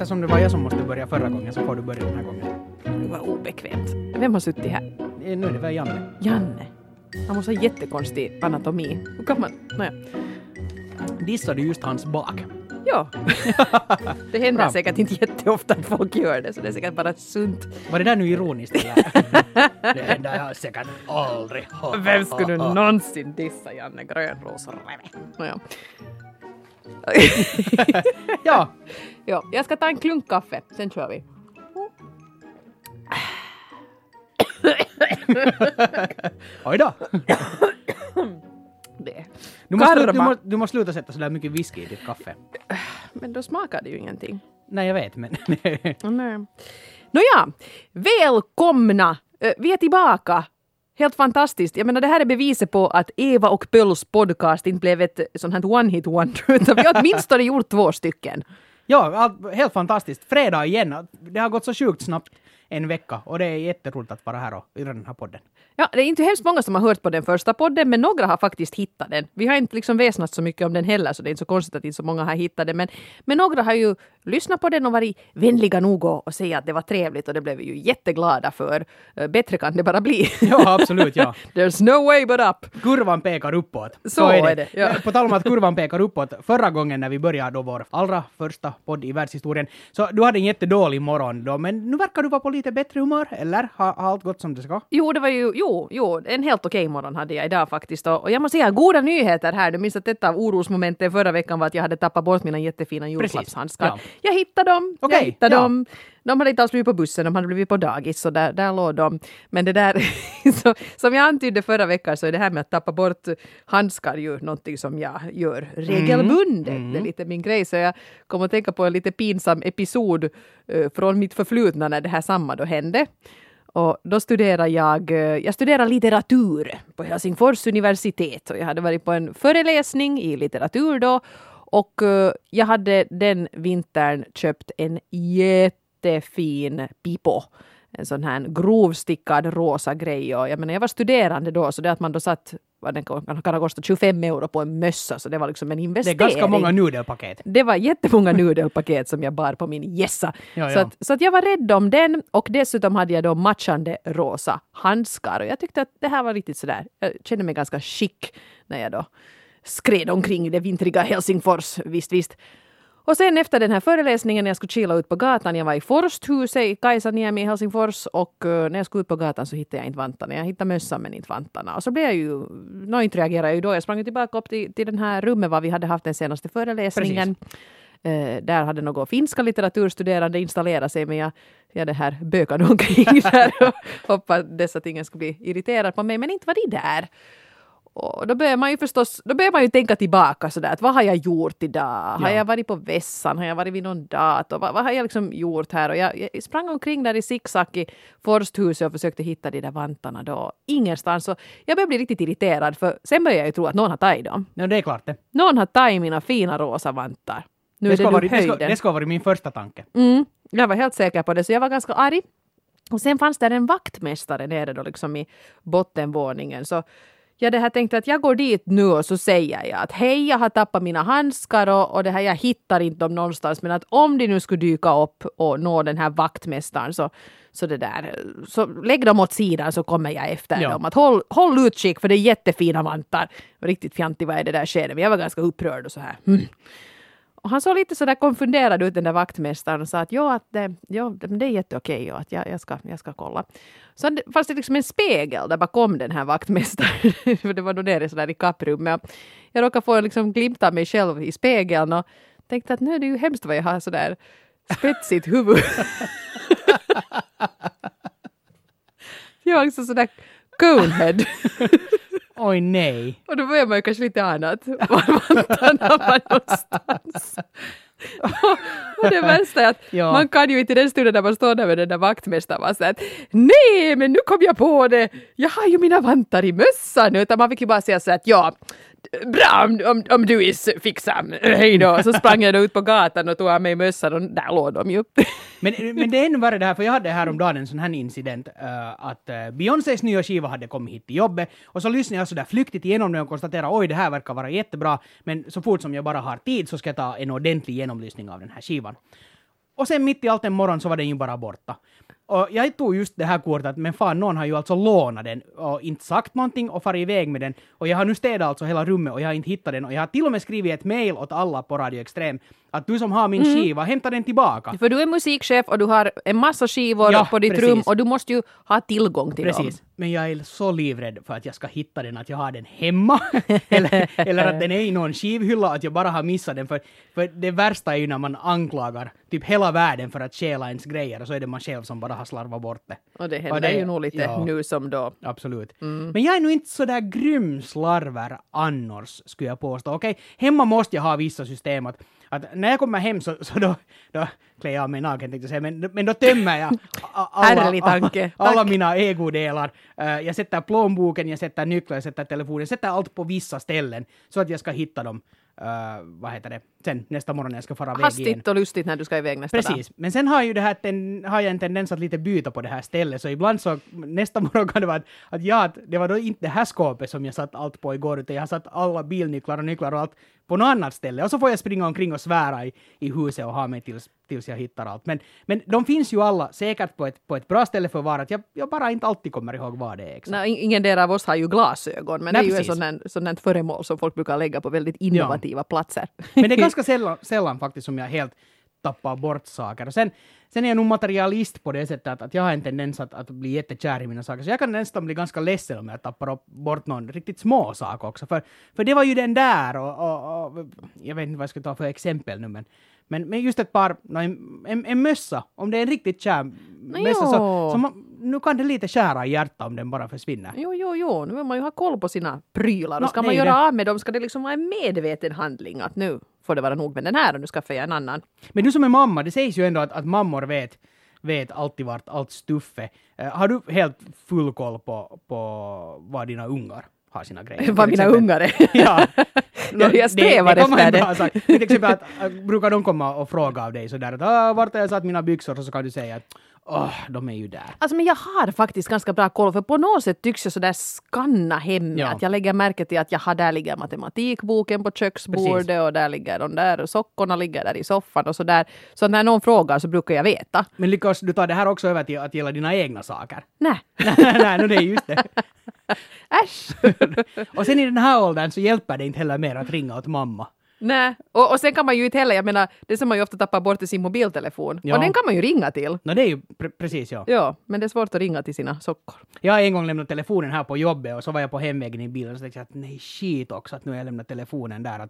eftersom det var jag som måste börja förra gången så får du börja den här gången. Det var obekvämt. Vem har suttit här? Nu är det väl Janne. Janne. Han måste ha jättekonstig anatomi. Hur kan man... Naja. Dissade just hans bak. Ja. Det händer säkert inte jätteofta att folk gör det, så det är säkert bara sunt. Var det där nu ironiskt? Det händer jag säkert aldrig. Vem skulle du någonsin dissa Janne Grönros-Reve? Naja. Ja. Ja, jag ska ta en klunk kaffe, sen kör vi. Oj då. Det. Du måste sluta sätta så där mycket whisky i ditt kaffe. Men då smakar det ju ingenting. Nej, jag vet, men... Nej. Nåja, välkomna! Vi är tillbaka. Helt fantastiskt. Jag menar, det här är beviset på att Eva och Pölls podcast inte blev ett sånt här one-hit wonder, utan vi har åtminstone gjort 2 stycken. Ja, helt fantastiskt. Fredag igen. Det har gått så sjukt snabbt en vecka och det är jätteroligt att vara här och göra den här podden. Ja, det är inte hemskt många som har hört på den första podden, men några har faktiskt hittat den. Vi har inte liksom väsnat så mycket om den heller, så det är inte så konstigt att inte så många har hittat den. Men några har ju lyssnat på den och varit vänliga nog och säga att det var trevligt, och det blev vi ju jätteglada för. Bättre kan det bara bli. Ja, absolut, ja. There's no way but up. Kurvan pekar uppåt. Så är det. Ja. På tal om att kurvan pekar uppåt, förra gången när vi började då vår allra första podd i världshistorien, så du hade en jättedålig morgon då, men nu verkar du vara på lite bättre humör, eller? Har allt gått som det ska? Jo, det var ju, en helt okej morgon hade jag idag faktiskt. Och jag måste säga, goda nyheter här. Du minns att detta av orosmomenten förra veckan var att jag hade tappat bort mina jättefina julklappshandskar. Ja. Jag hittade dem. Dem. De hade inte alls blivit på bussen, de hade blivit på dagis, så där låg de. Men det där, så, som jag antydde förra veckan, så är det här med att tappa bort handskar ju någonting som jag gör regelbundet. Det är lite min grej, så jag kommer att tänka på en lite pinsam episod från mitt förflutna när det här samma då hände. Och då studerar jag studerar litteratur på Helsingfors universitet, och jag hade varit på en föreläsning i litteratur då, och jag hade den vintern köpt en jättefin pipo. En sån här grovstickad rosa grej. Och jag menar, jag var studerande då, så det att man då satt, vad den kan ha kostat 25 euro på en mössa, så det var liksom en investering. Det är ganska många nudelpaket. Det var jättemånga nudelpaket som jag bar på min gässa. Ja. Så att jag var rädd om den, och dessutom hade jag då matchande rosa handskar. Och jag tyckte att det här var riktigt sådär. Jag kände mig ganska chic när jag då skred omkring det vintriga Helsingfors, visst. Och sen efter den här föreläsningen, när jag skulle chilla ut på gatan, jag var i Forsthuset i Kaisaniemi i Helsingfors, och när jag skulle ut på gatan så hittade jag inte vantarna. Jag hittade mössan men inte vantarna. Och så blev jag ju, inte reagerade jag ju då. Jag sprang tillbaka upp till den här rummet var vi hade haft den senaste föreläsningen. Där hade några finska litteraturstuderande installerat sig, men jag det här bökade omkring där och hoppade dessa ting skulle bli irriterad på mig, men inte var de där. Och då börjar man ju tänka tillbaka sådär, att vad har jag gjort idag? Har jag varit på vässan? Har jag varit vid någon dator? Vad har jag liksom gjort här? Och jag sprang omkring där i zigzag i Forsthuset och försökte hitta de där vantarna då. Ingenstans. Så jag började bli riktigt irriterad, för sen började jag ju tro att någon har tagit dem. Ja, det är klart det. Någon har tagit mina fina rosa vantar. Nu är det höjden. Det ska vara min första tanke. Jag var helt säker på det, så jag var ganska arg. Och sen fanns där en vaktmästare nere då liksom i bottenvåningen, så jag det här tänkte att jag går dit nu och så säger jag att hej, jag har tappat mina handskar och det här, jag hittar inte dem någonstans, men att om de nu skulle dyka upp och nå den här vaktmästaren så det där, så lägg dem åt sidan så kommer jag efter dem. Att håll utkik, för det är jättefina vantar. Riktigt fjantig var det där skedet, men jag var ganska upprörd och så här. Och han såg lite så där konfunderad ut, den där vaktmästaren, och sa att det är jätteokej och att jag ska kolla. Så fanns det liksom en spegel där bakom den här vaktmästaren. För det var då nere så där i kapprummet. Jag råkade få liksom glimt av mig själv i spegeln och tänkte att nu är det ju hemskt vad jag har så där spetsigt huvud. Jag var liksom så där conehead. Oj nej. Och då börjar man ju kanske lite annat. Var vantarna var någonstans. Och det värsta är att man kan ju inte i den stunden när man står där med den där vaktmästaren vara så att nej, men nu kom jag på det. Jag har ju mina vantar i mössan. Utan man fick ju bara säga så att bra om du är fixam. Hej då. Så sprang jag då ut på gatan och tog av mig mössan och där låg de ju. Men det är ännu värre det här, för jag hade häromdagen en sån här incident att Beyoncés nya skiva hade kommit hit till jobbet, och så lyssnade jag så där flyktigt igenom det och konstaterade oj, det här verkar vara jättebra, men så fort som jag bara har tid så ska jag ta en ordentlig genomlysning av den här skivan. Och sen mitt i allt en morgon så var den ju bara borta. Och jag tog just det här kortet, men fan, någon har ju alltså lånat den och inte sagt någonting och farit iväg med den. Och jag har nu städat alltså hela rummet och jag har inte hittat den. Och jag har till och med skrivit ett mejl åt alla på Radio Extrem att du som har min skiva, hämta den tillbaka. För du är musikchef och du har en massa skivor på ditt rum och du måste ju ha tillgång till dem. Men jag är så livrädd för att jag ska hitta den, att jag har den hemma. eller att den är i någon skivhylla, att jag bara har missat den. För det värsta är ju när man anklagar typ hela världen för att stjäla ens grejer och så är det man själv som bara har slarvat bort det. Och det händer ju nog lite nu som då. Absolut. Men jag är nog inte så där grym slarver annars, skulle jag påstå. Okej, hemma måste jag ha vissa system att när jag kommer hem så då klär jag mig naken, tänkte jag säga, men då tömmer jag alla mina ägodelar. Jag sätter plånboken, jag sätter nycklar, jag sätter telefonen, jag sätter allt på vissa ställen så att jag ska hitta dem. Sen nästa morgon när jag ska fara iväg igen. Hastigt och lustigt när du ska iväg nästa dag. Precis, men sen har jag en tendens att lite byta på det här stället, så ibland så nästa morgon kan det vara att det var då inte det här skåpet som jag satt allt på igår, utan jag har satt alla bilnycklar och nycklar och allt på något annat ställe, och så får jag springa omkring och svära i huset och ha mig tills jag hittar allt. Men de finns ju alla säkert på ett bra ställe för var, att jag bara inte alltid kommer ihåg vad det är exakt. Nej, ingen del av oss har ju glasögon, men det är ju en sån föremål som folk brukar lägga på väldigt innovativa platser. Men det är ganska sällan faktiskt som jag helt tappar bort saker. Och sen är jag nog materialist på det sättet att jag har en tendens att bli jättekär i mina saker. Så jag kan nästan bli ganska ledsen om jag tappar bort någon riktigt små sak också. För det var ju den där och jag vet inte vad jag ska ta för exempel nu, men just ett par, en mössa, om det är en riktigt kär mössa så nu kan det lite skära i hjärtat om den bara försvinner. Jo, nu vill man ju ha koll på sina prylar. Då ska man göra av med dem, ska det liksom vara en medveten handling att nu får det vara nog med den här och nu skaffar jag en annan. Men du som är mamma, det sägs ju ändå att mammor vet alltid vart allt stuff är. Har du helt full koll på vad dina ungar har sina grejer? Vad mina ungar är? Ja. Jag strävar efter det. Till exempel brukar de komma och fråga av dig sådär att vart har jag satt mina byxor, och så kan du säga att de är ju där. Alltså, men jag har faktiskt ganska bra koll, för på något sätt tycks jag sådär skanna hemma. Ja. Att jag lägger märke till att där ligger matematikboken på köksbordet. Precis. Och där ligger de där och sockorna ligger där i soffan och sådär. Så när någon frågar så brukar jag veta. Men lyckas du ta det här också över till att gälla dina egna saker? Nej. Nej, det är just det. Äsch! Och sen i den här åldern så hjälper det inte heller mer att ringa åt mamma. Nej, och sen kan man ju inte heller, jag menar, det som man ju ofta tappar bort i sin mobiltelefon. Ja. Och den kan man ju ringa till. Det är ju precis, ja. Ja, men det är svårt att ringa till sina sockor. Jag har en gång lämnat telefonen här på jobbet och så var jag på hemvägen i bilen och så tänkte jag att nej, shit också att nu har jag lämnat telefonen där.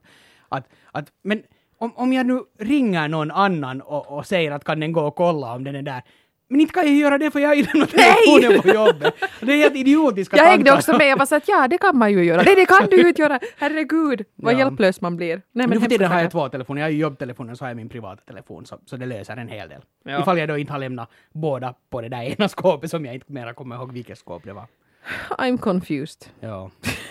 Men om jag nu ringer någon annan och säger att kan den gå och kolla om den är där. Men inte kan jag göra det för jag har ju lämnat telefonen på jobbet. Det är helt idiotiska tankar. Jag hängde också med och var så att det kan man ju göra. Nej, det kan du ju inte göra. Herregud, vad hjälplös man blir. Nej, men nu för tiden har jag 2 telefoner. Jag har ju jobbtelefonen och så har jag min privata telefon. Så det löser en hel del. Ja. Ifall jag då inte har lämnat båda på det där ena skåpet som jag inte mera kommer ihåg vilket skåp det var. I'm confused. Ja.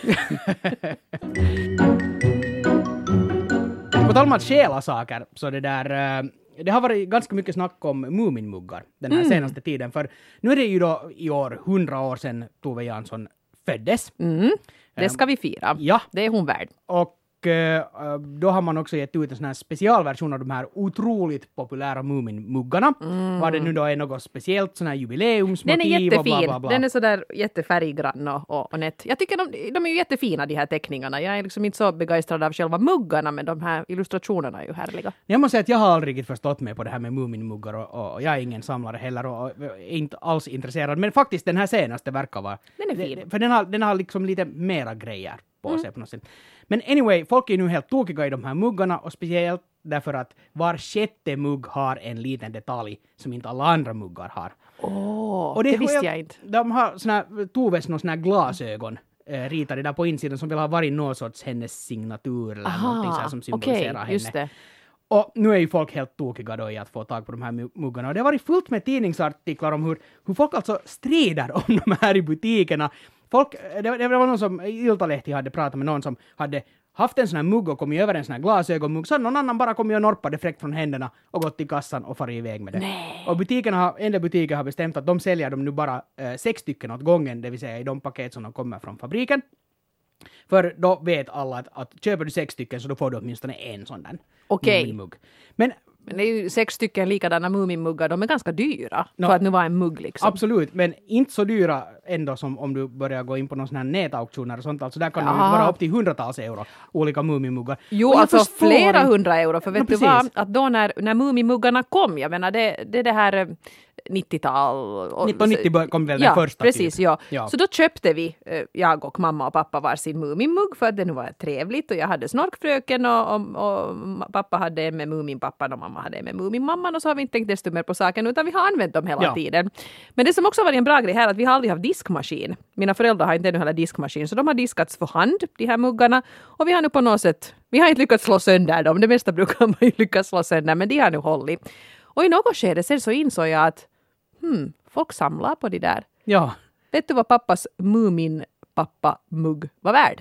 På tal om att stjäla saker, så det har varit ganska mycket snack om Muminmuggar den här senaste tiden. För nu är det ju då i år 100 år sedan Tove Jansson föddes. Det ska vi fira. Ja. Det är hon värd. Och då har man också gett ut en sån här specialversion av de här otroligt populära Muminmuggarna. Var det nu då är något speciellt sån här jubileumsmotiv. Den är jättefin. Och bla bla bla. Den är sådär jättefärggrann och nätt. Jag tycker de är ju jättefina, de här teckningarna. Jag är liksom inte så begeistrad av själva muggarna, men de här illustrationerna är ju härliga. Jag måste säga att jag har aldrig förstått mig på det här med Muminmuggar och jag är ingen samlare heller och är inte alls intresserad. Men faktiskt den här senaste verkar vara... Den är fin. För den har liksom lite mera grejer på sig på något sätt. Men anyway, folk är nu helt tokiga i de här muggarna och speciellt därför att var 6:e mugg har en liten detalj som inte alla andra muggar har. Och det visste jag inte. De har Toves såna här glasögon ritade där på insidan som vill ha varit någon sorts hennes signatur eller någonting så här som symboliserar henne. Just det. Och nu är ju folk helt tokiga då i att få tag på de här muggarna. Och det har varit fullt med tidningsartiklar om hur folk alltså strider om de här i butikerna. Det var någon som, Iltalehti hade pratat med någon som hade haft en sån här mugg och kommit över en sån här glasögonmugg. Så någon annan bara kommit och norpade fräckt från händerna och gått till kassan och farit iväg med det. Nej. Och en del butiker har bestämt att de säljer dem nu bara 6 stycken åt gången, det vill säga i de paket som de kommer från fabriken. För då vet alla att köper du 6 stycken så då får du åtminstone en sån där mugg. Men Men det är ju 6 stycken likadana Muminmuggar, de är ganska dyra för att nu vara en mugg liksom. Absolut, men inte så dyra ändå som om du börjar gå in på någon sån här nätauktioner och sånt. Alltså där kan det vara upp till hundratals euro, olika Muminmuggar. Jo, alltså flera 100 euro, för vet du vad, att då när Mumimuggarna kom, jag menar det här 90-tal. 1990 kom väl den första. Precis, typ. ja. Så då köpte vi, jag och mamma och pappa var sin Muminmugg för att det nu var trevligt och jag hade Snorkfröken och pappa hade en med Muminpappan och mamma hade en med Muminmamman och så har vi inte tänkt desto mer på saken utan vi har använt dem hela tiden. Men det som också var en bra grej här är att vi har aldrig haft diskmaskin. Mina föräldrar har inte ännu heller diskmaskin så de har diskats för hand, de här muggarna, och vi har nu på något sätt, vi har inte lyckats slå sönder dem, det mesta brukar man ju lyckas slå sönder, men de har nu hållit. Och i något skede sen så insåg jag att folk samlar på de där. Ja. Vet du vad pappas Muminpappa-mugg var värd?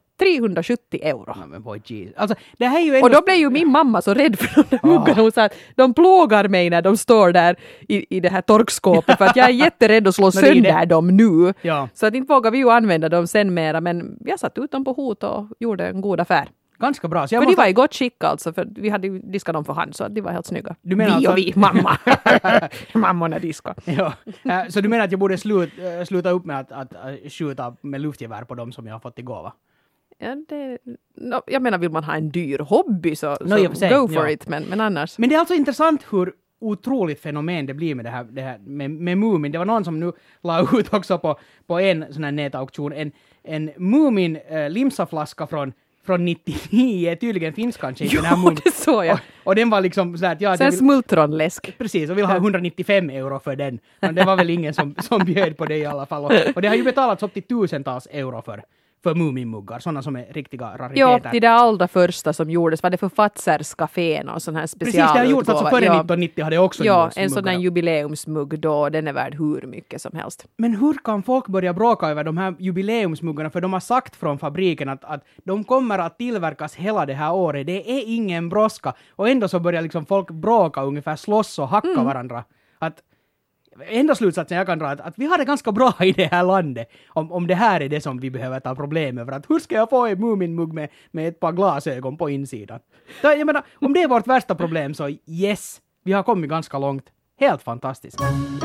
370 euro. No, men boy, alltså, det här är ju och då blev ju min mamma så rädd för de där muggarna. Hon sa att de plågar mig när de står där i det här torkskåpet för att jag är jätterädd att slå sönder dem nu. Ja. Så att inte vågar vi ju använda dem sen mera, men jag satt ut dem på hot och gjorde en god affär. Ganska bra. Så för de var i gott skick alltså, för vi hade ju diskat dem för hand så att de var helt snygga. Du menar vi alltså... och vi, mamma. Mammorna diskar. Ja. Så du menar att jag borde sluta upp med att skjuta med luftgevär på dem som jag har fått i gåva? Ja, jag menar, vill man ha en dyr hobby så go for it, men annars. Men det är alltså intressant hur otroligt fenomen det blir med det här med Mumin. Det var någon som nu la ut också på en sån här nätauktion en Mumin limsaflaska från 99, tydligen finns kanske inte den här Mumin. Det såg jag. Och den var liksom sådär att ja, sen smultronläsk. Precis, och vill ha 195 euro för den. Men det var väl ingen som bjöd på det i alla fall. Och det har ju betalats upp till tusentals euro för Muminmuggar, sådana som är riktiga rariteter. Ja, det allra första som gjordes var det för Fatzers cafén och sån här specialutgåva. Precis, det har gjorts alltså före 1990 hade också gjorts en sån här jubileumsmugg då, den är värd hur mycket som helst. Men hur kan folk börja bråka över de här jubileumsmuggarna? För de har sagt från fabriken att de kommer att tillverkas hela det här året. Det är ingen brådska. Och ändå så börjar liksom folk bråka, ungefär slåss och hacka varandra. Enda slutsatsen jag kan dra att vi har det ganska bra i det här landet om det här är det som vi behöver ta problem över. Att hur ska jag få en Muminmugg med ett par glasögon på insidan? Jag menar, om det är vårt värsta problem så yes, vi har kommit ganska långt. Helt fantastiskt.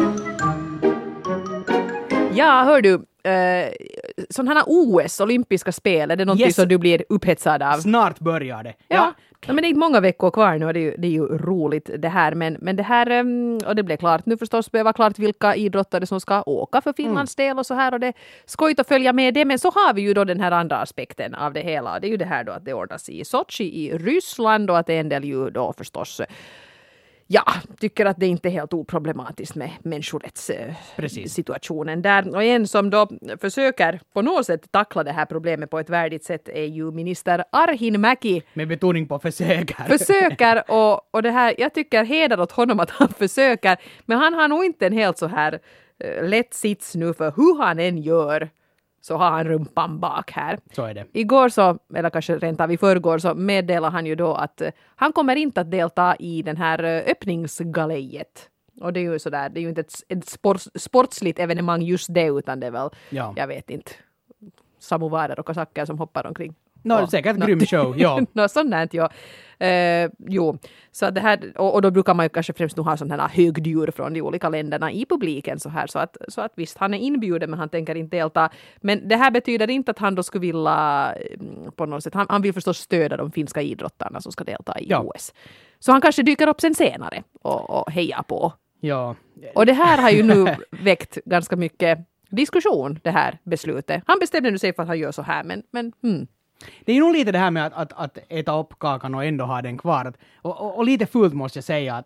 Ja, hör du, sådana här OS, olympiska spel, är det någonting som du blir upphetsad av? Snart börjar det. Ja, men det är inte många veckor kvar nu och det är ju roligt det här. Men det här, och det blev klart nu förstås, var klart vilka idrottare som ska åka för Finlands del och så här. Och det är skojigt att följa med det. Men så har vi ju då den här andra aspekten av det hela. Det är ju det här då att det ordnas i Sochi i Ryssland och att det är en del ju då förstås... Ja, tycker att det inte är helt oproblematiskt med människorättssituationen där. Och en som då försöker på något sätt tackla det här problemet på ett värdigt sätt är ju minister Arhinmäki. Med betoning på försöker. Försöker och det här, jag tycker heder åt honom att han försöker. Men han har nog inte en helt så här lätt sits nu för hur han än gör. Så har han rumpan bak här. Så är det. Igår så, eller kanske rent av i förrgår, så meddelar han ju då att han kommer inte att delta i den här öppningsgalejet. Och det är ju sådär, det är ju inte ett sportsligt evenemang just det, utan det är väl, jag vet inte, samovarer och kasacker som hoppar omkring. Säkert grym show, ja. Sånt här, ja. Jo, så det här, och då brukar man ju kanske främst nu ha sådana här högdjur från de olika länderna i publiken så här, så att visst, han är inbjuden men han tänker inte delta. Men det här betyder inte att han då skulle vilja på något sätt, han vill förstås stödja de finska idrottarna som ska delta i OS. Så han kanske dyker upp sen senare och hejar på. Ja. Och det här har ju nu väckt ganska mycket diskussion, det här beslutet. Han bestämde nu sig för att han gör så här, men Det är nog lite det här med att äta upp kakan och ändå ha den kvar. Och lite fult måste jag säga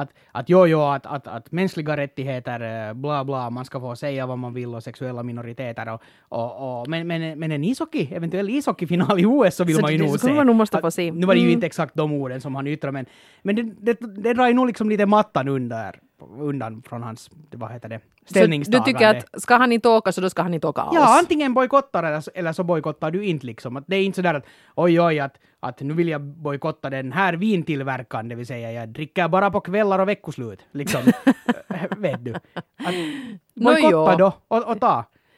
att mänskliga rättigheter, bla bla, man ska få säga vad man vill och sexuella minoriteter. Men en eventuell ishockeyfinal i OS så vill man ju nog se. Man nog måste få se. Nu var det ju inte exakt de orden som han yttrade, men det drar ju nog liksom lite mattan undan från hans, vad heter det, ställningstagande. Så du tycker att ska han inte åka så då ska han inte åka alls? Ja, antingen bojkottar eller så bojkottar du inte liksom. Att det är inte sådär att oj, att nu vill jag bojkotta den här vintillverkan, det vill säga jag dricker bara på kvällar och veckoslut. Liksom, vet du. Bojkotta då och ta.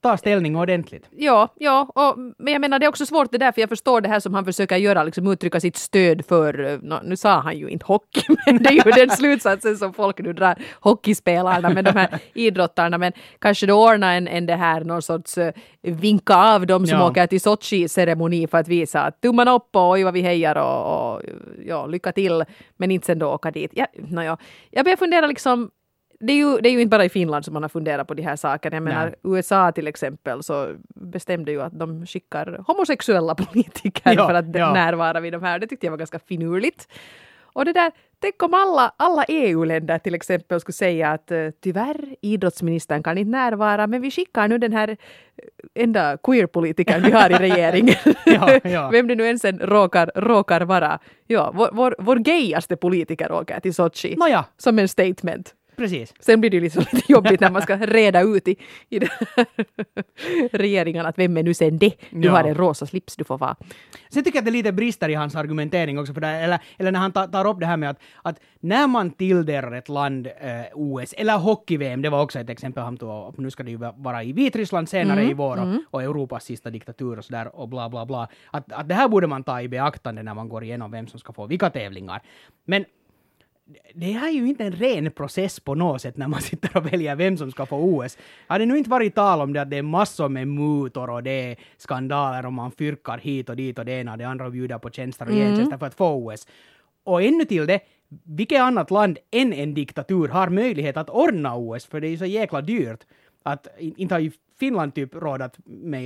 ta ställning ordentligt. Ja, men jag menar det är också svårt det där, för jag förstår det här som han försöker göra, liksom uttrycka sitt stöd för, nu sa han ju inte hockey, men det är ju den slutsatsen som folk nu drar, hockeyspelarna med de här idrottarna, men kanske då ordna en det här, någon sorts vinka av dem som åker till Sochi-ceremoni för att visa att tummarna upp och oj vad vi hejar och ja, lycka till, men inte sen då åka dit. Jag börjar fundera liksom, det är ju inte bara i Finland som man har funderat på de här sakerna. Jag menar, USA till exempel så bestämde ju att de skickar homosexuella politiker för att närvara vid de här. Det tyckte jag var ganska finurligt. Och det där, tänk om alla EU-länder till exempel skulle säga att tyvärr, idrottsministern kan inte närvara, men vi skickar nu den här enda queer-politikern vi har i regeringen. Vem det nu ens råkar vara. Ja, vår gayaste politiker åker till Sochi. Som en statement. Precis. Sen blir det ju liksom lite jobbigt när man ska reda ut i den här regeringen att vem är nu sen det? Du har en rosa slips, du får vara. Sen tycker jag att det lite brister i hans argumentering också, för det, eller när han tar upp det här med att när man tilldelar ett land OS eller hockey-VM, det var också ett exempel han tog, nu ska det ju vara i Vitryssland senare i vår och Europas sista diktatur och sådär och bla bla bla. Att det här borde man ta i beaktande när man går igenom vem som ska få vilka tävlingar. Men det här är ju inte en ren process på något sätt när man sitter och väljer vem som ska få OS. Hade nu inte varit tal om det att det är massor med mutor och det är skandaler och man fyrkar hit och dit och det ena och det andra och bjuder på tjänster och gentjänster för att få OS. Och ännu till det, vilket annat land än en diktatur har möjlighet att ordna OS, för det är ju så jäkla dyrt att inte har ju Finland typ råd att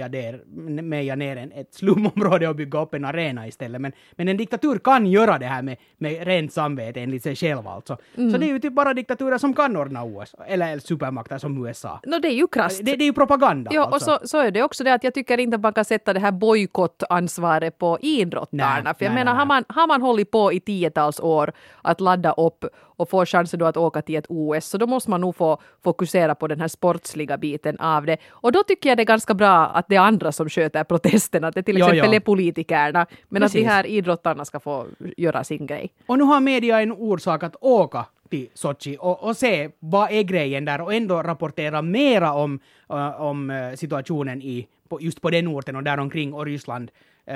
meja ner ett slumområde och bygga upp en arena istället. Men en diktatur kan göra det här med rent samvete enligt sig själv alltså. Så det är ju typ bara diktaturer som kan ordna OS. Eller supermakter som USA. Det är ju krasst. Det är ju propaganda. Ja, alltså. och så är det också det att jag tycker inte att man kan sätta det här bojkottansvaret på idrottarna. För jag menar, har man hållit på i 10-tals år att ladda upp och få chansen då att åka till ett OS, så då måste man nog få fokusera på den här sportsliga biten av det. Och då tycker jag det är ganska bra att det är andra som sköter protesterna, att det till exempel är politikerna, men precis, att de här idrottarna ska få göra sin grej. Och nu har media en orsak att åka till Sochi och se vad är grejen där och ändå rapportera mera om situationen just på den orten och däromkring och Ryssland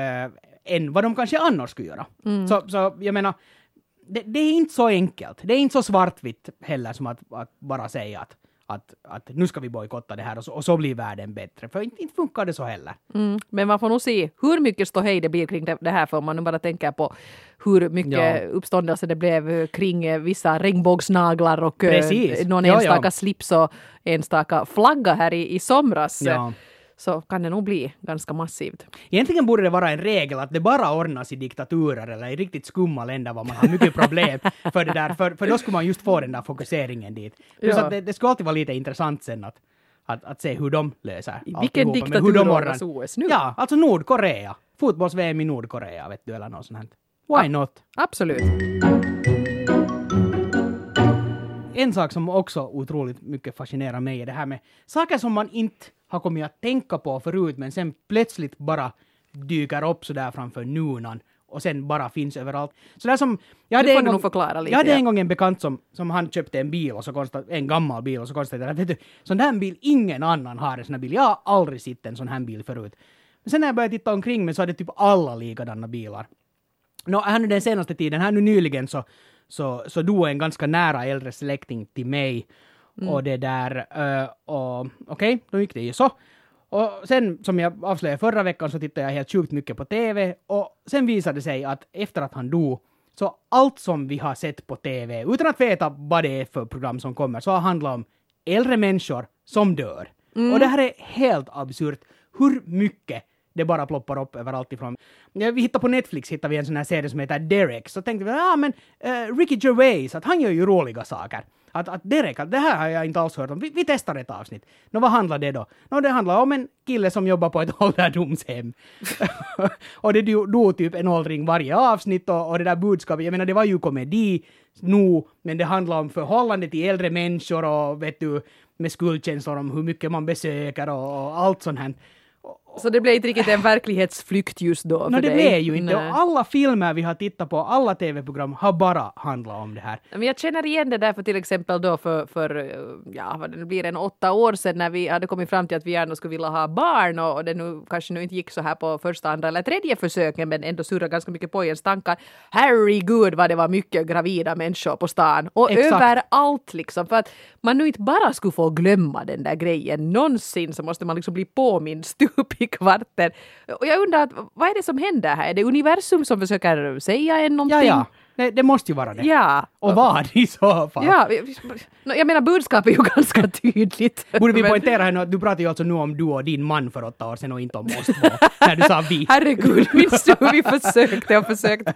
än vad de kanske annars skulle göra. Så jag menar, det är inte så enkelt. Det är inte så svartvitt heller som att bara säga att nu ska vi bojkotta det här och så blir världen bättre. För inte funkar det så heller. Men man får nog se hur mycket ståhej det blir kring det här, för om man nu bara tänker på hur mycket uppståndelse det blev kring vissa regnbågsnaglar och någon enstaka slips och enstaka flagga här i somras. Ja. Så kan det nog bli ganska massivt. Egentligen borde det vara en regel att det bara ordnas i diktaturer eller i riktigt skumma länder var man har mycket problem för det där. För då skulle man just få den där fokuseringen dit. Plus att det skulle alltid vara lite intressant sen att se hur de löser. Vilken diktatur ordnas OS nu? Ja, alltså Nordkorea. Fotbolls-VM i Nordkorea, vet du, eller något sånt här. Why not? Absolut. En sak som också otroligt mycket fascinerar mig är det här med saker som man inte har kommit att tänka på förut, men sen plötsligt bara dyker upp så där framför nunan och sen bara finns överallt. Så där som jag hade en gång en bekant som han köpte en bil och så en gammal bil och så konstaterade, vet du, sån här bil, ingen annan har en sån här bil. Jag har aldrig sett en sån här bil förut. Men sen när jag började titta omkring mig så hade typ alla likadana bilar. Här nu den senaste tiden, här nu nyligen så dog en ganska nära äldre släkting till mig. Och det där, okej, då gick det ju så. Och sen, som jag avslöjade förra veckan, så tittade jag helt sjukt mycket på TV. Och sen visade det sig att efter att han dog, så allt som vi har sett på TV, utan att veta vad det är för program som kommer, så har handlat om äldre människor som dör. Och det här är helt absurt. Hur mycket det bara ploppar upp överallt ifrån. Vi hittade på Netflix vi en sån här serie som heter Derek. Så tänkte vi, men Ricky Gervais, att han gör ju roliga saker. Att Derek, det här har jag inte alls hört om. Vi testar ett avsnitt. Vad handlar det då? Det handlar om en kille som jobbar på ett ålderdomshem. Och det dog typ en åldring varje avsnitt och det där budskapet, jag menar det var ju komedi nu, men det handlar om förhållande till äldre människor och vet du, med skuldkänslor om hur mycket man besöker och allt sånt här. Så det blev inte riktigt en verklighetsflykt just då för det dig? blev ju inte. Nej. Och alla filmer vi har tittat på, alla tv-program har bara handlat om det här. Men jag känner igen det där för till exempel då för vad det blir 8 år sedan när vi hade kommit fram till att vi gärna skulle vilja ha barn och det nu kanske nu inte gick så här på första, andra eller tredje försöken men ändå surrar ganska mycket på ens tankar. Herregud vad det var mycket gravida människor på stan och Exakt. överallt liksom för att man nu inte bara skulle få glömma den där grejen någonsin så måste man liksom bli påmind stup i kvarten. Och jag undrar vad är det som händer här? Är det universum som försöker säga en någonting? Ja. Det måste ju vara det. Ja. Och vad i så fall? Ja, jag menar budskapet är ju ganska tydligt. Borde vi poängtera här nu att du pratar ju alltså nu om du och din man för 8 år sedan och inte om oss två. När du sa vi. Herregud, minns du hur vi försökte?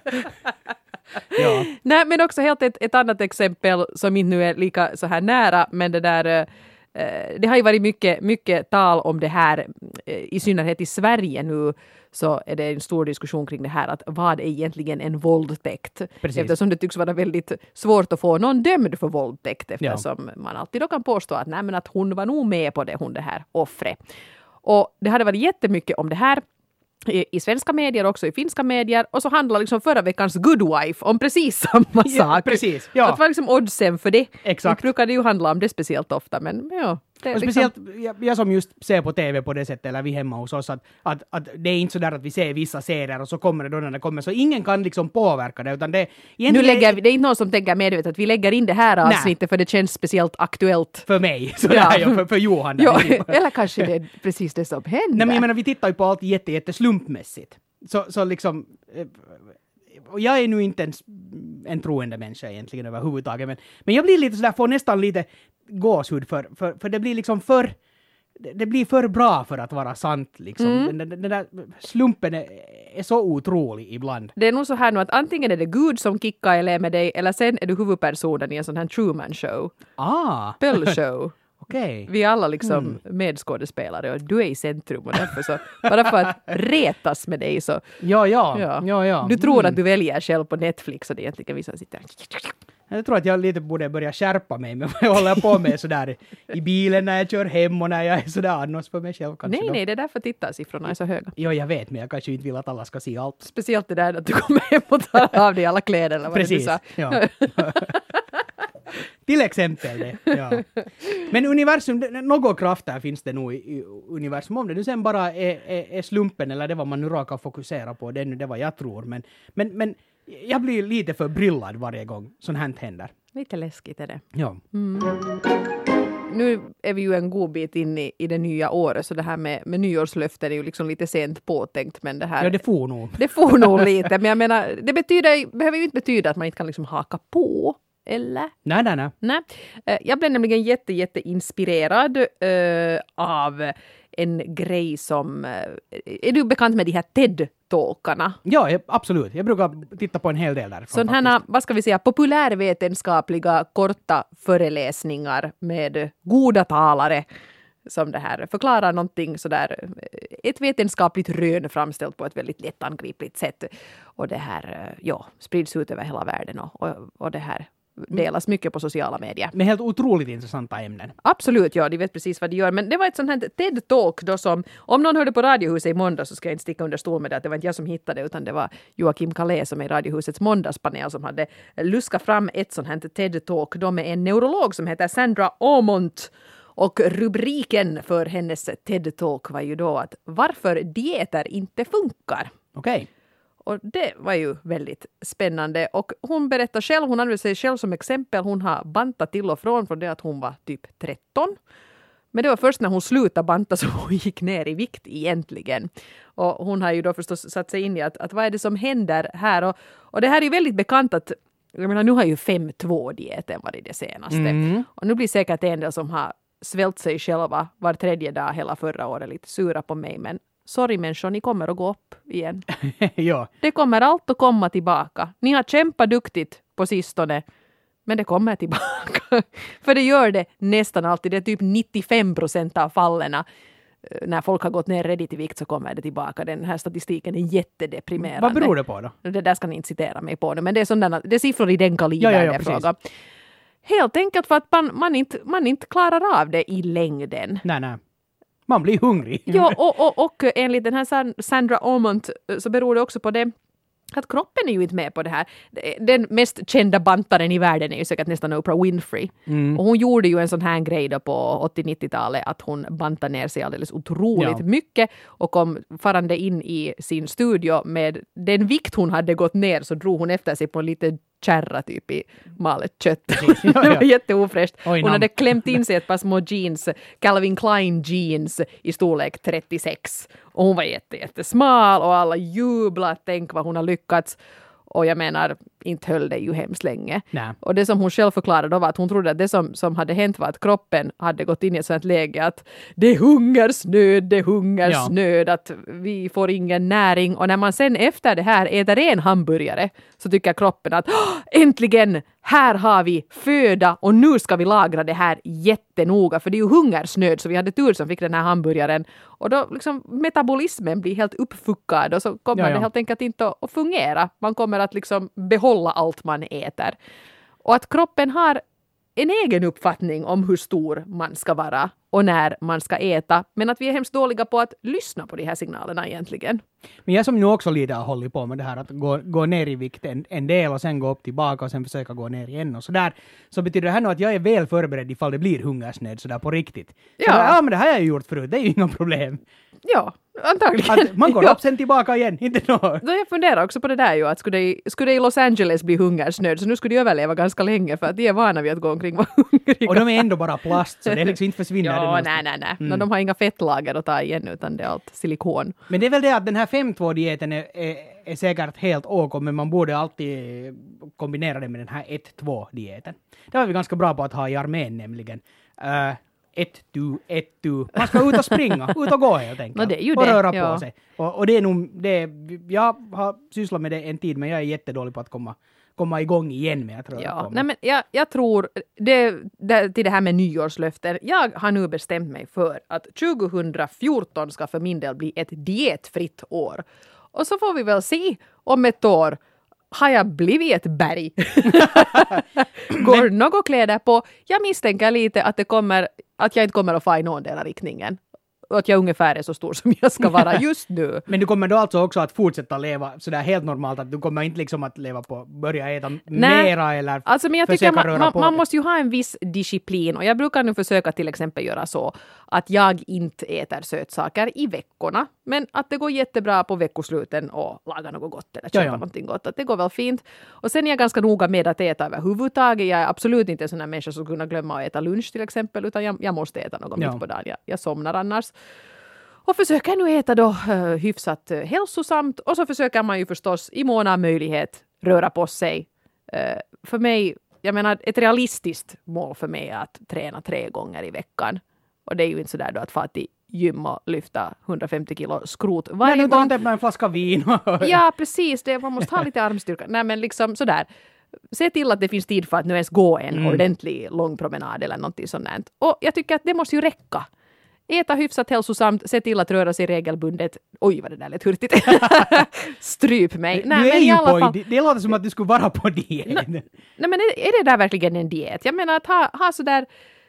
Ja. Nej, men också helt ett annat exempel som inte nu är lika så här nära, men det där det har ju varit mycket tal om det här, i synnerhet i Sverige nu så är det en stor diskussion kring det här att vad är egentligen en våldtäkt? Precis. Eftersom det tycks vara väldigt svårt att få någon dömd för våldtäkt eftersom man alltid då kan påstå att, nej, men att hon var nog med på det här offret. Och det hade varit jättemycket om det här i svenska medier också i finska medier och så handlar liksom förra veckans Good Wife om precis samma sak. Precis, ja. Att var liksom oddsen för det. Exakt. Det brukar det ju handla om det speciellt ofta men ja. Det är Och liksom, speciellt jag som just ser på tv på det sättet, eller vi hemma hos oss, att det är inte så där att vi ser vissa serier och så kommer det då när det kommer, så ingen kan liksom påverka det, utan det nu lägger det är inte någon som tänker medvetet att vi lägger in det här avsnittet för det känns speciellt aktuellt. för mig, så där, för Johan. Ja, eller kanske det är precis det som händer. Nej, men jag menar, vi tittar ju på allt jätteslumpmässigt. Så liksom... Och jag är nu inte en troende människa egentligen överhuvudtaget, men jag blir lite sådär, får nästan lite gåshud för det blir liksom det blir för bra för att vara sant liksom. Den där slumpen är så otrolig ibland. Det är nog så här nu att antingen är det Gud som kickar eller med dig eller sen är du huvudpersonen i en sån här Truman show. Pöll-show. Okej. Vi är alla liksom medskådespelare och du är i centrum och därför så, bara för att retas med dig så... Ja. Du tror att du väljer själv på Netflix och det egentligen vissa sitter... Jag tror att jag lite borde börja skärpa mig med vad jag håller på med sådär i bilen när jag kör hem och när jag är sådär annars för mig själv kanske. Nej, det är därför tittarsiffrorna är så höga. Ja, jag vet, men jag kanske inte vill att alla ska se allt. Speciellt det där att du kommer hem och tar av dig alla kläder eller vad Precis, det du sa. ja. Till exempel det, ja. Men universum, något krafter finns det nog i universum. Om det nu sen bara är slumpen eller det vad man nu råkar fokusera på, det är nu det vad jag tror. Men jag blir lite förbryllad varje gång sånt här händer. Lite läskigt är det. Ja. Nu är vi ju en god bit in i det nya året så det här med nyårslöften är ju liksom lite sent påtänkt men det här... Ja, det får nog. Det får nog lite, men jag menar, det behöver ju inte betyda att man inte kan liksom haka på. Eller? Nej. Jag blev nämligen jätte inspirerad av en grej som... är du bekant med de här TED-talkarna? Ja, absolut. Jag brukar titta på en hel del därifrån. Sådana här, vad ska vi säga, populärvetenskapliga korta föreläsningar med goda talare som det här förklarar någonting sådär, ett vetenskapligt rön framställt på ett väldigt lättangripligt sätt. Och det här, sprids ut över hela världen och det här delas mycket på sociala medier. Med helt otroligt intressanta ämnen. Absolut, ja, de vet precis vad de gör. Men det var ett sånt här TED-talk då som, om någon hörde på Radiohuset i måndag så ska jag inte sticka under stol med det, att det var inte jag som hittade det, utan det var Joakim Kalé som är i Radiohusets måndagspanel som hade luskat fram ett sånt här TED-talk då med en neurolog som heter Sandra Aumont. Och rubriken för hennes TED-talk var ju då att varför dieter inte funkar. Okej. Och det var ju väldigt spännande. Och hon berättar själv, hon använder sig själv som exempel. Hon har bantat till och från det att hon var typ 13. Men det var först när hon slutade banta som hon gick ner i vikt egentligen. Och hon har ju då förstås satt sig in i att vad är det som händer här. Och det här är ju väldigt bekant att, jag menar nu har ju 5-2-dieten varit det senaste. Och nu blir säkert en del som har svält sig själva var tredje dag hela förra året lite sura på mig. Men sorry människor, ni kommer att gå upp igen. Ja. Det kommer allt att komma tillbaka. Ni har kämpat duktigt på sistone, men det kommer tillbaka. För det gör det nästan alltid. Det är typ 95% av fallen. När folk har gått ner redigt i vikt så kommer det tillbaka. Den här statistiken är jättedeprimerande. Vad beror det på då? Det där ska ni inte citera mig på nu, men det är sådana, det är siffror i den kalibern. Ja, fråga. Helt enkelt för att man inte klarar av det i längden. Nej. Man blir hungrig. Ja, och enligt den här Sandra Ormond så beror det också på det att kroppen är ju inte med på det här. Den mest kända bantaren i världen är ju säkert nästan Oprah Winfrey. Och hon gjorde ju en sån här grej då på 80-90-talet att hon bantade ner sig alldeles otroligt mycket och kom farande in i sin studio med den vikt hon hade gått ner så drog hon efter sig på en lite kärra typ i malet kött. Det var jätteofräscht. Hon hade klämt in sig ett par små jeans, Calvin Klein jeans i storlek 36. Och hon var jättesmal och alla jublade, tänk vad hon har lyckats. Och jag menar, inte höll det ju hemskt länge. Nej. Och det som hon själv förklarade då var att hon trodde att det som hade hänt var att kroppen hade gått in i ett sådant läge att det är hungersnöd, att vi får ingen näring. Och när man sen efter det här äter en hamburgare så tycker kroppen att äntligen, här har vi föda och nu ska vi lagra det här jättenoga för det är ju hungersnöd så vi hade tur som fick den här hamburgaren. Och då liksom metabolismen blir helt uppfuckad och så kommer det helt enkelt inte att fungera. Man kommer att liksom behålla allt man äter. Och att kroppen har en egen uppfattning om hur stor man ska vara och när man ska äta. Men att vi är hemskt dåliga på att lyssna på de här signalerna egentligen. Men jag som nu också lite har hållit på med det här att gå ner i vikt en del och sen gå upp tillbaka och sen försöka gå ner igen och sådär. Så betyder det här nu att jag är väl förberedd ifall det blir hungersnöd sådär på riktigt. Så men det här har jag gjort förut, det är ju inga problem. Ja, antagligen. Att man går upp sen tillbaka igen, inte något. Då jag funderar också på det där ju, att skulle det i Los Angeles bli hungersnöd så nu skulle de överleva ganska länge för att de är vana vid att gå omkring och vara hungriga. Och de är ändå bara plast så det är liksom inte försvinner. Ja, nej. Mm. De har inga fettlager att ta igen utan det är allt silikon. Men det är väl det att den här 5-2-dieten är säkert helt ok, men man borde alltid kombinera det med den här 1-2-dieten. Det var vi ganska bra på att ha i armén nämligen. 1-2. Man ska ut och springa, ut och gå helt enkelt. Det är ju och det, röra på sig. Och det är nog, jag har sysslat med det en tid men jag är jättedålig på att komma igång igen med att röra på mig. Nej, men jag tror, till det här med nyårslöften, jag har nu bestämt mig för att 2014 ska för min del bli ett dietfritt år. Och så får vi väl se om ett år har jag blivit ett berg. Går något kläder på? Jag misstänker lite att jag inte kommer att få i någon del av riktningen. Och att jag ungefär är så stor som jag ska vara just nu. Men du kommer då alltså också att fortsätta leva sådär helt normalt, att du kommer inte liksom att leva på, börja äta mera eller alltså, men jag tycker man måste ju ha en viss disciplin och jag brukar nu försöka till exempel göra så att jag inte äter sötsaker i veckorna, men att det går jättebra på veckosluten och laga något gott eller köpa någonting gott, att det går väl fint. Och sen är jag ganska noga med att äta överhuvudtaget. Jag är absolut inte en sån här människa som kunna glömma att äta lunch till exempel, utan jag måste äta något mitt på dagen. Jag somnar annars. Och försöker nu äta då hyfsat hälsosamt och så försöker man ju förstås i mån av möjlighet röra på sig. För mig, jag menar ett realistiskt mål för mig är att träna 3 gånger i veckan. Och det är ju inte sådär då att få till gym och lyfta 150 kilo skrot varje gång. Men du en flaska vin. Ja, precis. Man måste ha lite armstyrka. Nej, men liksom sådär. Se till att det finns tid för att nu ens gå en ordentlig lång promenad eller någonting sånt. Och jag tycker att det måste ju räcka. Äta hyfsat hälsosamt, se till att röra sig regelbundet. Oj, vad det där lät hurtigt. Stryp mig. Nej, du är ju alla fall... Det låter som att du skulle vara på diet. Nej, men är det där verkligen en diet? Jag menar att ha sådär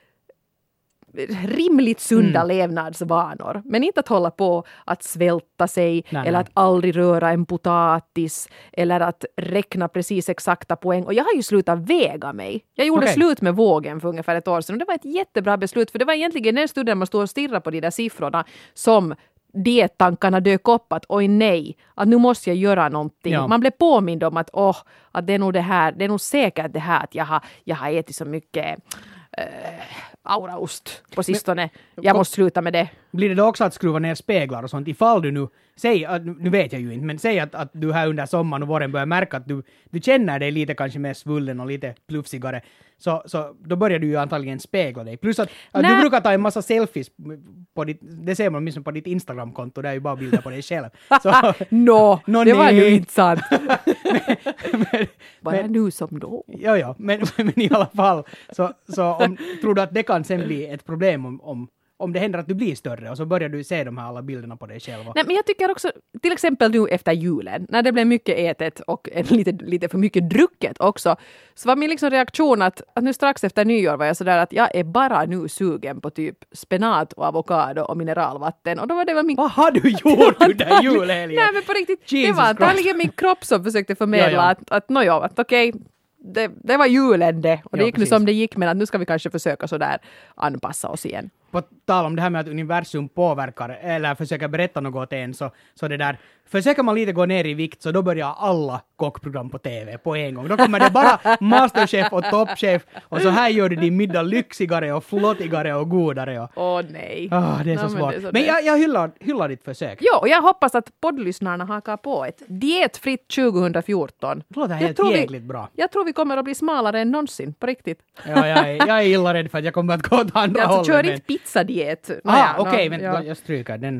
rimligt sunda levnadsvanor. Men inte att hålla på att svälta sig eller att aldrig röra en potatis eller att räkna precis exakta poäng. Och jag har ju slutat väga mig. Jag gjorde slut med vågen för ungefär ett år sedan och det var ett jättebra beslut för det var egentligen den stunden man stod och stirrade på de där siffrorna som diettankarna dök upp att oj nej, att nu måste jag göra någonting. Ja. Man blev påmind om att att det är nog det här, det är nog säkert det här att jag har ätit så mycket auraost på sistone. Jag måste sluta med det. Blir det då också att skruva ner speglar och sånt ifall du nu, nu vet jag ju inte, men säg att du här under sommaren och våren börjar märka att du känner dig lite kanske mer svullen och lite plufsigare, så då börjar du ju antagligen spegla dig. Plus att du brukar ta en massa selfies på det ser man åtminstone på ditt Instagram-konto, där är ju bara bilder på dig själv. Så, det var ju inte sant. Bara nu som då. Ja, men i alla fall så tror du att det kan sen bli ett problem om det händer att du blir större och så börjar du se de här alla bilderna på dig själv. Nej, men jag tycker också, till exempel nu efter julen, när det blev mycket ätet och lite för mycket drucket också, så var min liksom reaktion att nu strax efter nyår var jag sådär att jag är bara nu sugen på typ spenat och avokado och mineralvatten. Och då var det väl min... Vad har du gjort under julhelgen? Nej, men på riktigt, Jesus det var antagligen min kropp som försökte förmedla att okej, det var julen det. Och det gick nu som det gick, men att nu ska vi kanske försöka sådär anpassa oss igen. På tal om det här med att universum påverkar eller försöker berätta något åt en, så det där, försöker man lite gå ner i vikt så då börjar alla kockprogram på TV på en gång. Då kommer det bara Masterchef och Toppchef och så här gör du din middag lyxigare och flottigare och godare. Åh nej. Det är så svårt. Men jag hyllar ditt försök. Jo, och jag hoppas att poddlyssnarna hakar på ett dietfritt 2014. Det låter helt jäkligt bra. Jag tror vi kommer att bli smalare än någonsin, på riktigt. Ja, jag är illa rädd för att jag kommer att gå åt andra hållet. Alltså, kör inte pizzadiet. Okej, vänta, jag stryker den.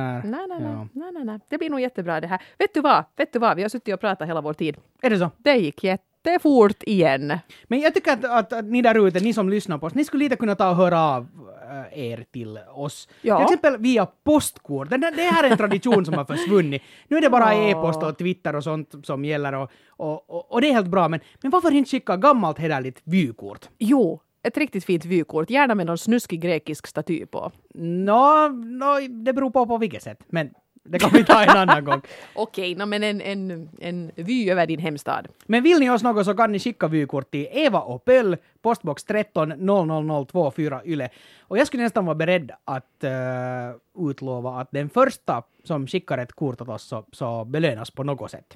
Nej. Det blir nog jättebra det här. Vet du vad? Vi har suttit och pratat hela vår tid. Är det så? Det gick jättefort igen. Men jag tycker att ni där ute, ni som lyssnar på oss, ni skulle lite kunna ta och höra av er till oss. Ja. Till exempel via postkort. Det här är en tradition som har försvunnit. Nu är det bara e-post och Twitter och sånt som gäller och det är helt bra. Men varför inte skicka gammalt hederligt vykort? Jo, ett riktigt fint vykort. Gärna med någon snuskig grekisk staty på. Det beror på vilket sätt. Men det kan vi ta en annan gång. Okej, men en vy över din hemstad. Men vill ni oss något så kan ni skicka vykort till Eva och Pöll, postbox 13 00024 Yle. Och jag skulle nästan vara beredd att utlova att den första som skickar ett kort åt oss så belönas på något sätt.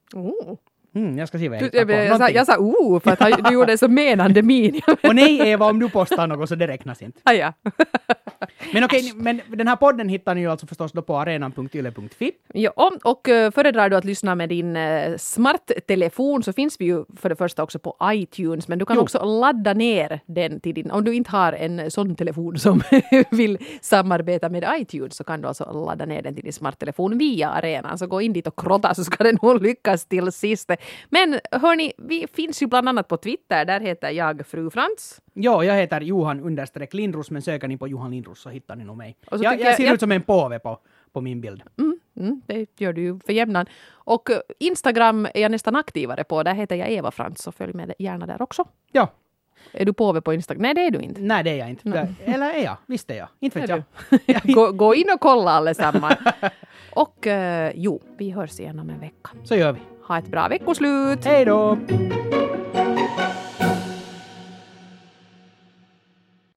Jag ska se vad jag hittar på. Jag sa för att du gjorde så menande min. Och nej Eva, om du postar något så det räknas inte. Ja. Men okej, men den här podden hittar ni ju alltså förstås då på arenan.yle.fi. Ja, och föredrar du att lyssna med din smarttelefon så finns vi ju för det första också på iTunes, men du kan också ladda ner den till din, om du inte har en sån telefon som vill samarbeta med iTunes så kan du alltså ladda ner den till din smarttelefon via arenan, så gå in dit och krotta så ska det nog lyckas till sist. Men hörni, vi finns ju bland annat på Twitter, där heter jag Fru Frans. Ja, jag heter Johan_Lindros, men söker ni på Johan Lindros så hittar ni nog mig. Jag ser ut som en påve på min bild. Det gör du ju för jämnan. Och Instagram är jag nästan aktivare på, där heter jag Eva Frans, så följ med gärna där också. Ja. Är du påve på Instagram? Nej, det är du inte. Nej, det är jag inte. Eller är jag? Visst är jag. Inte vet jag. Gå in och kolla allesammans. Och vi hörs igen om en vecka. Så gör vi. Ha ett bra veckoslut! Hej då!